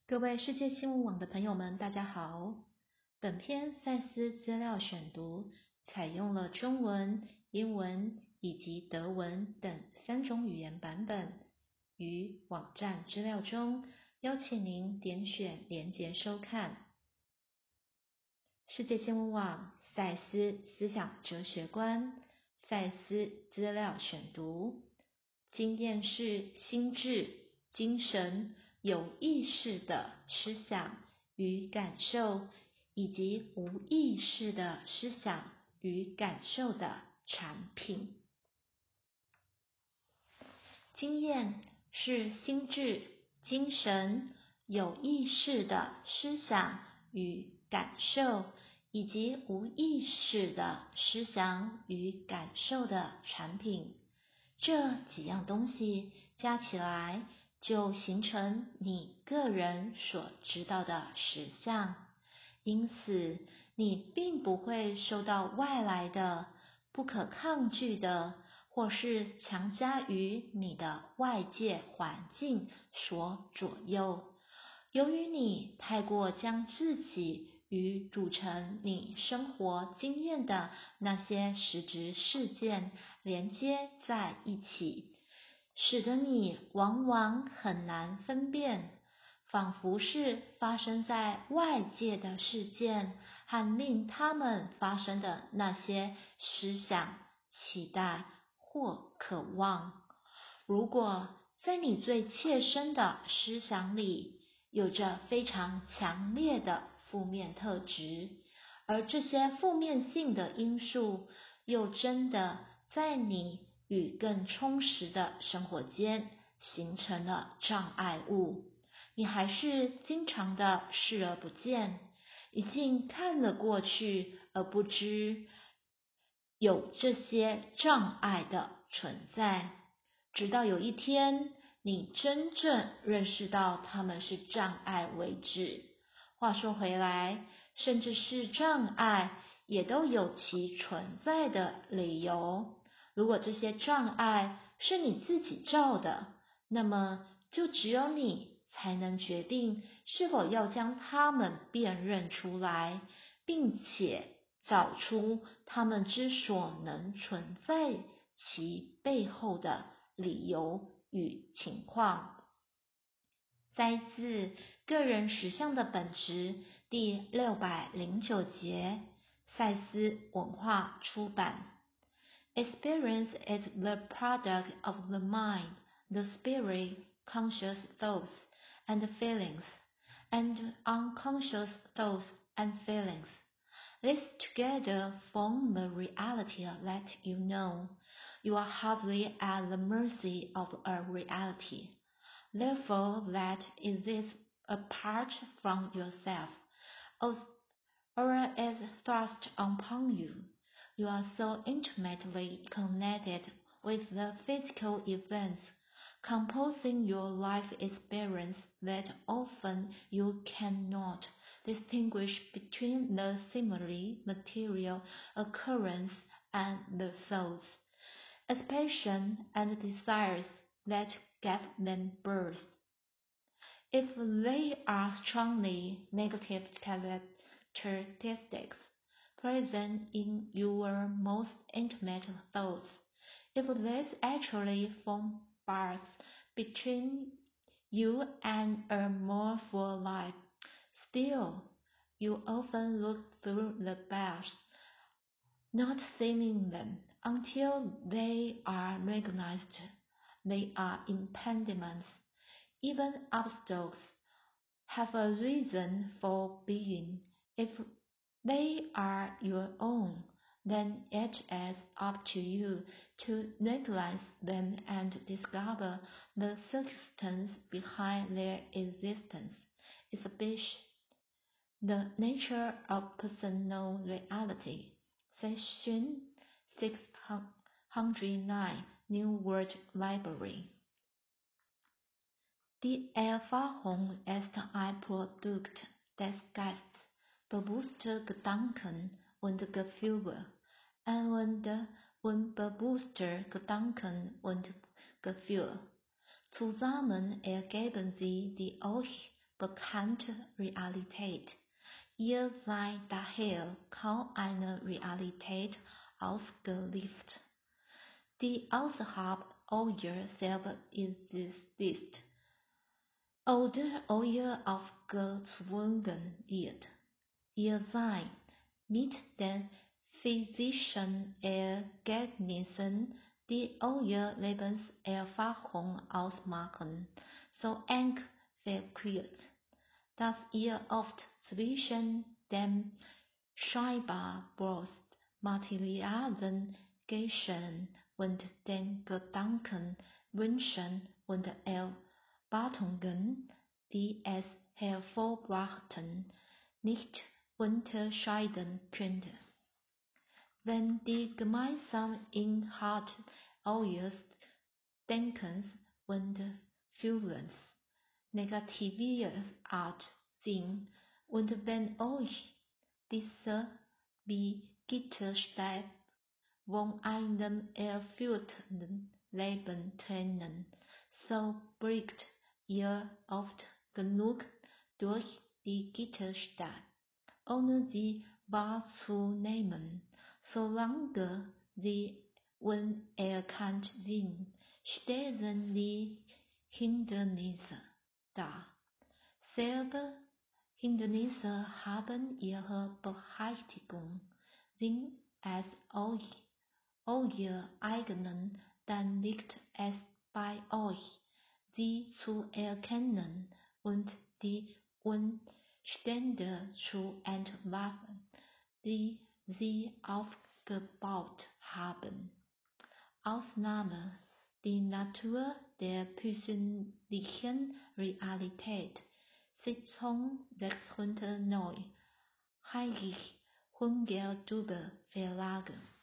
各位世界新闻网的朋友们，大家好。本篇赛斯资料选读采用了中文、英文以及德文等3种语言版本，于网站资料中邀请您点选连结收看。世界新闻网赛斯思想哲学观赛斯资料选读，经验是心智、精神、有意识的思想与感受，以及无意识的思想与感受的产品。经验是心智、精神、有意识的思想与感受，以及无意识的思想与感受的产品。这几样东西加起来，就形成你个人所知道的实相。因此，你并不会受到外来的、不可抗拒的，或是强加于你的外界环境所左右。由于你太过将自己与组成你生活经验的那些实质事件连接在一起，使得你往往很难分辨，仿佛是发生在外界的事件和令它们发生的那些思想、期待或渴望。如果在你最切身的思想里有着非常强烈的负面特质，而这些负面性的因素又真的在你与更充实的生活间形成了障碍物，你还是经常的视而不见，已经看了过去而不知有这些障碍的存在，直到有一天你真正认识到它们是障碍为止。话说回来，甚至是障碍也都有其存在的理由。如果这些障碍是你自己造的，那么就只有你才能决定是否要将它们辨认出来，并且找出它们之所能存在其背后的理由与情况。摘自个人实相的本质第609节，赛斯文化出版。Experience is the product of the mind, the spirit, conscious thoughts and feelings, and unconscious thoughts and feelings. These together form the reality that you know. You are hardly at the mercy of a reality, therefore, that exists apart from yourself, or is thrust upon you. You are so intimately connected with the physical events composing your life experience that often you cannot distinguish between the seemingly material occurrence and the thoughts, aspirations, and desires that give them birth. If they are strongly negative characteristics present in your most intimate thoughts, if these actually form bars between you and a more full life, still, you often look through the bars, not seeing them until they are recognized. They are impediments. Even obstacles have a reason for being. If they are your own, then it is up to you to recognize them and discover the substance behind their existence. Exhibition, the nature of personal reality. Section 609, New World Library. Die Erfahrung ist ein Produkt des Geistes, bewusster Gedanken und Gefühle, und unbewusster Gedanken und Gefühle. Zusammen ergeben sie die euch bekannte Realität. Ihr seid daher kaum eine Realität ausgeliefert, die außerhalb eurer selber existiert oder euer aufgezwungen wird. Ihr seid mit den physischen Ergebnissen, die eure Lebenserfahrung ausmachen, so eng verknüpft, dass ihr oft zwischen dem scheinbar bloß materialen Geschehen und den Gedanken, Wünschen und Erwartungen, die es hervorbrachten, nicht unterscheiden könnt. Wenn die gemeinsamen Inhalte eures Denkens und Fühlens negativer Art sind und wenn euch diese wie Gitterstäbe von einem erfüllten Leben trennen, so blickt ihr oft genug durch die Gitterstäbe, ohne sie wahrzunehmen. Solange sie unerkannt sind, stellen die Hindernisse dar. Selbe Hindernisse haben ihre Berechtigung. Sind es euer eigenen, dann liegt es bei euch, sie zu erkennen und die Umstände zu entlarven, die sie aufgebaut haben. Ausnahme: Die Natur der persönlichen Realität. Sitzung 609. Heinrich Hungertube Verlage